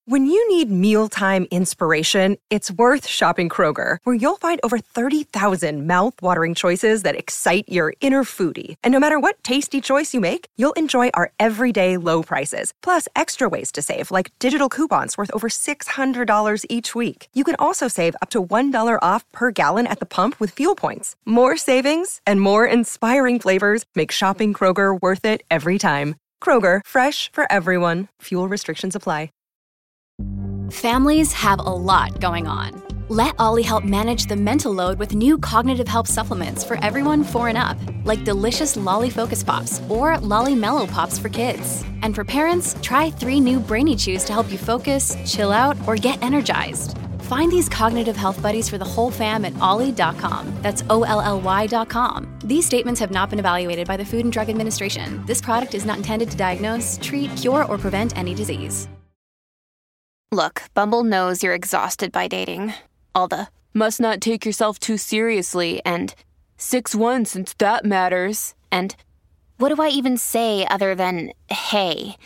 When you need mealtime inspiration, it's worth shopping Kroger, where you'll find over 30,000 mouth-watering choices that excite your inner foodie. And no matter what tasty choice you make, you'll enjoy our everyday low prices, plus extra ways to save, like digital coupons worth over $600 each week. You can also save up to $1 off per gallon at the pump with fuel points. More savings and more inspiring flavors make shopping Kroger worth it every time. Kroger, fresh for everyone. Fuel restrictions apply. Families have a lot going on. Let Ollie help manage the mental load with new cognitive help supplements for everyone 4 and up, like delicious Lolly Focus Pops or Lolly Mellow Pops for kids. And for parents, try 3 new Brainy Chews to help you focus, chill out, or get energized. Find these cognitive health buddies for the whole fam at ollie.com. That's OLLY.com. These statements have not been evaluated by the Food and Drug Administration. This product is not intended to diagnose, treat, cure, or prevent any disease. Look, Bumble knows you're exhausted by dating. All the, must not take yourself too seriously, and 6'1" since that matters, and what do I even say other than, hey?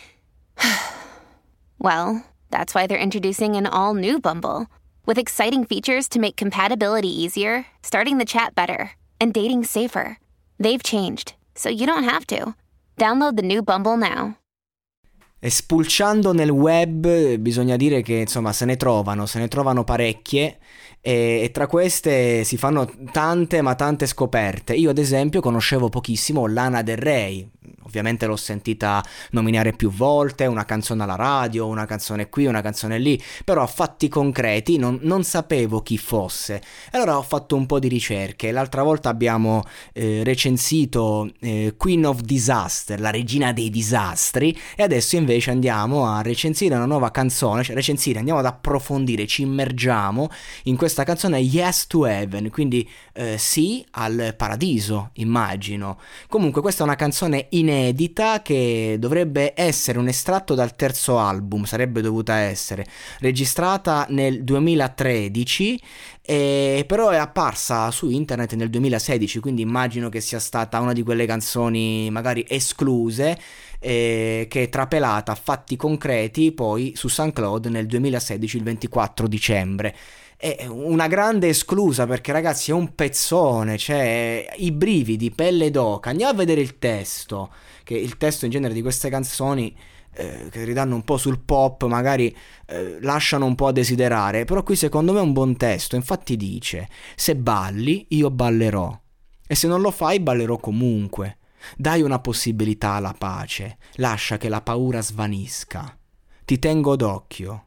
Well, that's why they're introducing an all-new Bumble, with exciting features to make compatibility easier, starting the chat better, and dating safer. They've changed, so you don't have to. Download the new Bumble now. E spulciando nel web bisogna dire che insomma se ne trovano parecchie e tra queste si fanno tante ma tante scoperte. Io ad esempio conoscevo pochissimo Lana Del Rey, ovviamente l'ho sentita nominare più volte, una canzone alla radio, una canzone qui, una canzone lì, però a fatti concreti non sapevo chi fosse. Allora ho fatto un po' di ricerche. L'altra volta abbiamo recensito Queen of Disaster, la regina dei disastri, e adesso invece andiamo a recensire una nuova canzone, andiamo ad approfondire, ci immergiamo in questa canzone Yes to Heaven, quindi sì al paradiso, immagino. Comunque questa è una canzone inedita che dovrebbe essere un estratto dal terzo album, sarebbe dovuta essere registrata nel 2013, però è apparsa su internet nel 2016, quindi immagino che sia stata una di quelle canzoni magari escluse, che è trapelata a fatti concreti poi su SoundCloud nel 2016, il 24 dicembre. È una grande esclusa, perché ragazzi è un pezzone, cioè i brividi, pelle d'oca. Andiamo a vedere il testo, che il testo in genere di queste canzoni che ridanno un po' sul pop magari lasciano un po' a desiderare, però qui secondo me è un buon testo. Infatti dice: se balli io ballerò, e se non lo fai ballerò comunque. Dai una possibilità alla pace, lascia che la paura svanisca, ti tengo d'occhio,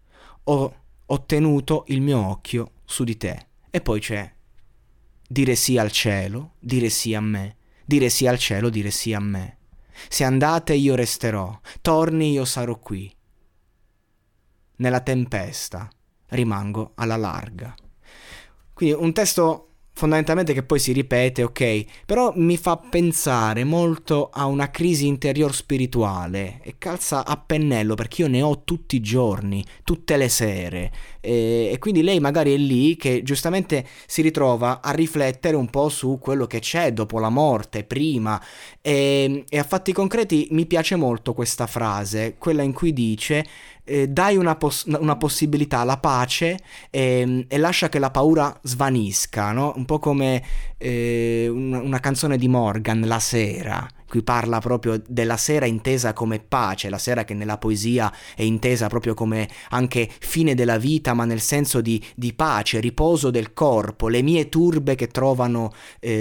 ho tenuto il mio occhio su di te. E poi c'è dire sì al cielo, dire sì a me, dire sì al cielo, dire sì a me. Se andate io resterò, torni io sarò qui. Nella tempesta rimango alla larga. Quindi un testo fondamentalmente che poi si ripete, ok, però mi fa pensare molto a una crisi interior spirituale e calza a pennello, perché io ne ho tutti i giorni, tutte le sere, e quindi lei magari è lì che giustamente si ritrova a riflettere un po' su quello che c'è dopo la morte, prima, e a fatti concreti mi piace molto questa frase, quella in cui dice dai una possibilità alla pace e lascia che la paura svanisca, no? Un po' come una canzone di Morgan, La sera, qui parla proprio della sera intesa come pace, la sera che nella poesia è intesa proprio come anche fine della vita, ma nel senso di pace, riposo del corpo, le mie turbe che trovano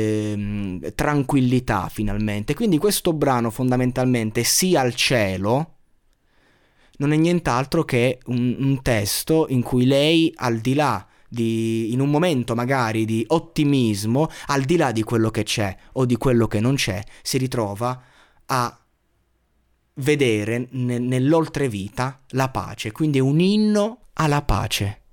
tranquillità finalmente. Quindi questo brano fondamentalmente Sì al cielo non è nient'altro che un testo in cui lei, al di là in un momento magari di ottimismo, al di là di quello che c'è o di quello che non c'è, si ritrova a vedere nell'oltrevita la pace, quindi è un inno alla pace.